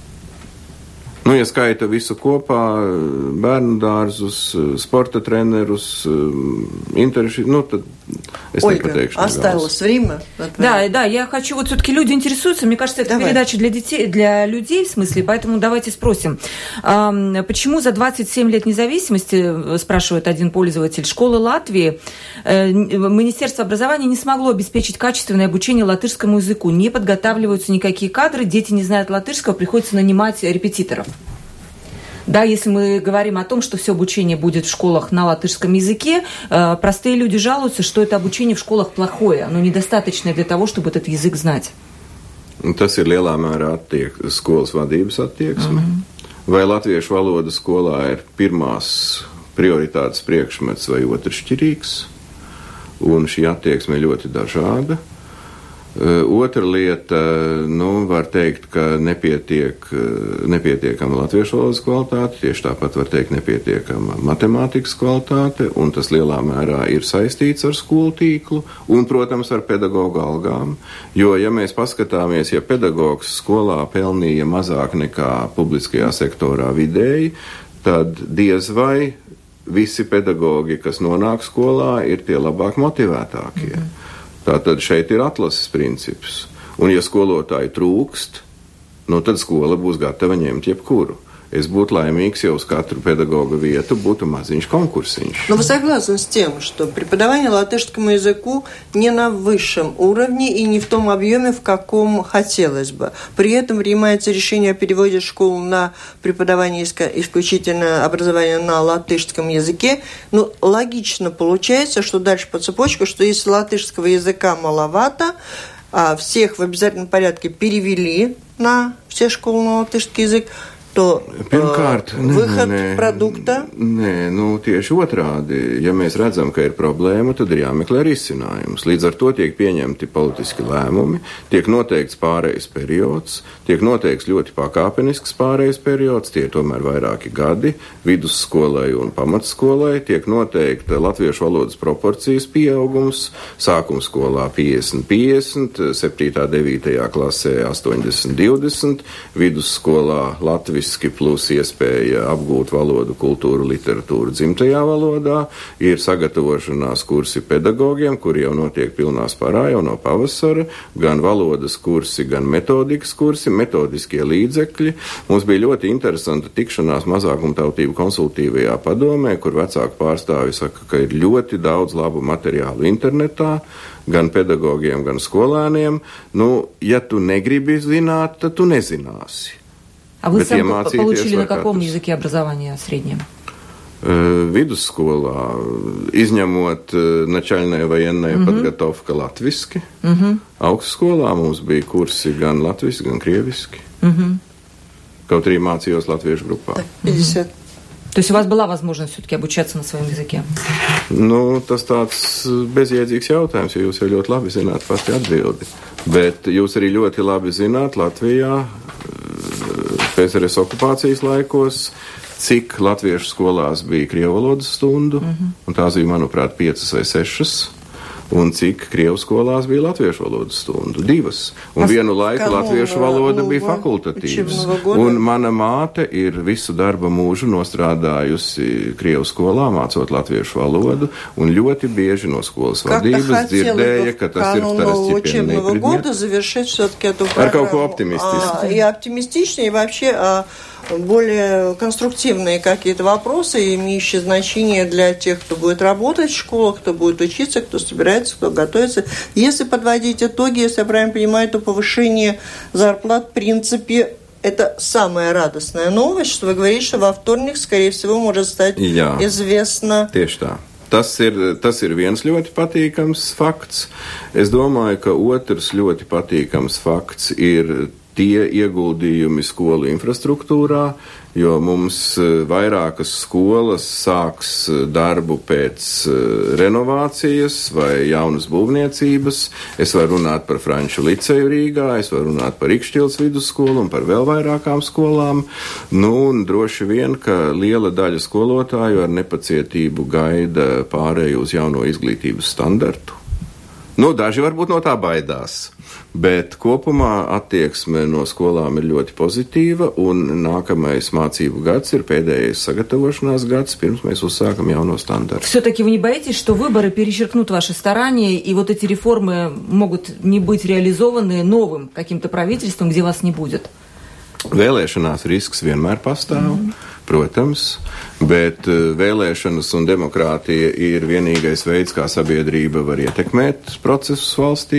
Nu, ja skaita visu kopā, bērnu dārzus, sporta trenerus, интересы, ну, tad es Ольга, nepateikšu. осталось время. Да, да, я хочу, вот все-таки люди интересуются, мне кажется, это Давай. передача для детей, для людей, в смысле, поэтому давайте спросим. А, почему за двадцать семь лет независимости, спрашивает один пользователь, школы Латвии, э, Министерство образования не смогло обеспечить качественное обучение латышскому языку, не подготавливаются никакие кадры, дети не знают латышского, приходится нанимать репетиторов. Да, если мы говорим о том, что все обучение будет в школах на латышском языке, э, простые люди жалуются, что это обучение в школах плохое, оно недостаточное для того, чтобы этот язык знать. Tas ir lielā mērā attiek, skolas vadības attieksme. Mm-hmm. Vai latviešu valoda skolā ir pirmās prioritātes priekšmets vai otršķirīgs, un šī attieksme ir ļoti dažāda. Otra lieta, nu, var teikt, ka nepietiek, nepietiekama latviešu valodas kvalitāte, tieši tāpat var teikt nepietiekama matemātikas kvalitāte, un tas lielā mērā ir saistīts ar skolu tīklu un, protams, ar pedagogu algām. Jo, ja mēs paskatāmies, ja pedagogs skolā pelnīja mazāk nekā publiskajā sektorā vidēji, tad diez vai visi pedagogi, kas nonāk skolā, ir tie labāk motivētākie. Mm-hmm. Tātad šeit ir atlases princips. Un ja skolotāji trūkst, nu tad skola būs gatava ņemt jebkuru. Es būtu laimīgs, ja uz katru педагога вietu būtu maziņš конкурсиņš. Но вы согласны с тем, что преподавание латышскому языку не на высшем уровне и не в том объеме, в каком хотелось бы. При этом принимается решение о переводе школ на преподавание исключительно образования на латышском языке. Ну, логично получается, что дальше по цепочке, что если латышского языка маловато, а всех в обязательном порядке перевели на все школы на латышский язык, to Pirmkārt, uh, выход nē, produkta? Nē, nu tieši otrādi. Ja mēs redzam, ka ir problēma, tad ir jāmeklē risinājums. Līdz ar to tiek pieņemti politiski lēmumi, tiek noteikts pārejas periods, tiek noteikts ļoti pakāpenisks pārejas periods, tie tomēr vairāki gadi, vidusskolai un pamatskolai, tiek noteikta latviešu valodas proporcijas pieaugums, sākumskolā piecdesmit piecdesmit, septītā devītajā klasē astoņdesmit divdesmit, vidusskolā Latvijas plus iespēja apgūt valodu, kultūru, literatūru dzimtajā valodā, ir sagatavošanās kursi pedagogiem, kuri jau notiek pilnā sparā jau no pavasara, gan valodas kursi, gan metodikas kursi, metodiskie līdzekļi. Mums bija ļoti interesanta tikšanās mazākumtautību konsultīvajā padomē, kur vecāku pārstāvi saka, ka ir ļoti daudz labu materiālu internetā, gan pedagogiem, gan skolēniem. Nu, ja tu negribi zināt, tad tu nezināsi. А вы сам получили на каком языке образования среднем? Vidusskolā, izņemot начальная военная uh-huh. подготовка latviski. Uh-huh. Augstskolā mums bija kursi gan latviski, gan krieviski. Uh-huh. Kaut arī mācījos latviešu grupā. пятьдесят. То есть у вас была возможность все-таки обучаться на своем языке? Nu, tas tāds bezjēdzīgs jautājums, jo jūs jau ļoti labi zināt pati atbildi. Bet jūs arī ļoti labi zināt Latvijā P S R S okupācijas laikos, cik latviešu skolās bija krievu valodas stundu, mm-hmm. un tās bija, manuprāt, piecas vai sešas, un cik krievu skolās bija latviešu valodas stundu, divas. Un As, vienu laiku latviešu valoda nova, bija fakultatīvas. Un mana māte ir visu darba mūžu nostrādājusi krievu skolā, mācot latviešu valodu, un ļoti bieži no skolas vadības dzirdēja, ka tas ir второстепенный предмет. Ar kaut ko optimistisku. И оптимистичнее, и вообще более конструктивные какие-то вопросы, имеющие значение для тех, кто будет работать в школах, кто будет учиться, кто собирается, кто готовится. Если подводить итоги, если я правильно понимаю, то повышение зарплат, в принципе, это самая радостная новость, что вы говорите, что во вторник, скорее всего, может стать Jā, известно. Tieši tā. Tas ir, tas ir viens ļoti patīkams fakts. Es domāju, ka otrs ļoti patīkams fakts ir tie ieguldījumi skolu infrastruktūrā, jo mums vairākas skolas sāks darbu pēc renovācijas vai jaunas būvniecības. Es varu runāt par Franču liceju Rīgā, es varu runāt par Ikšķils vidusskolu un par vēl vairākām skolām. Nu, un droši vien, ka liela daļa skolotāju ar nepacietību gaida pārēju uz jauno izglītības standartu. Nu, daži varbūt no tā baidās, bet kopumā attieksme no skolām ir ļoti pozitīva, un nākamais mācību gads ir pēdējais sagatavošanās gads, pirms mēs uzsākam jauno standartu. Все-таки вы не боитесь, что выборы перечеркнут ваши старания, и вот эти реформы могут не быть реализованы новым каким-то правительством, где вас не будет? Vēlēšanās risks vienmēr pastāv, mm. protams, bet vēlēšanas un demokrātija ir vienīgais veids, kā sabiedrība var ietekmēt procesus valstī.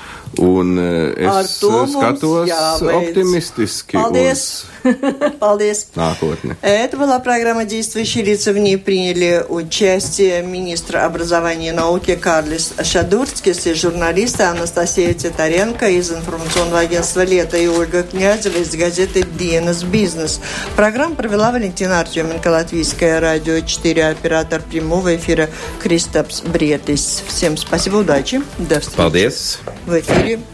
Un es skatos оптимистически uz Paldies. Nākotni. Это была программа «Действующие лица». В ней приняли участие министр образования и науки Карлис Шадурскис и журналисты Анастасия Титаренко из информационного агентства «Лето» и Ольга Князева из газеты «Dienas Business». Программу провела Валентина Артеменко, Латвийское радио четыре, оператор прямого эфира Кристапс Бриетис. Всем спасибо, удачи. До встречи. Paldies. В эфире